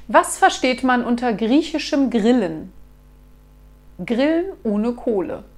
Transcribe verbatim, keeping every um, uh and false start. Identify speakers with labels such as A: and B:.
A: Was versteht man unter griechischem Grillen? Grillen ohne Kohle.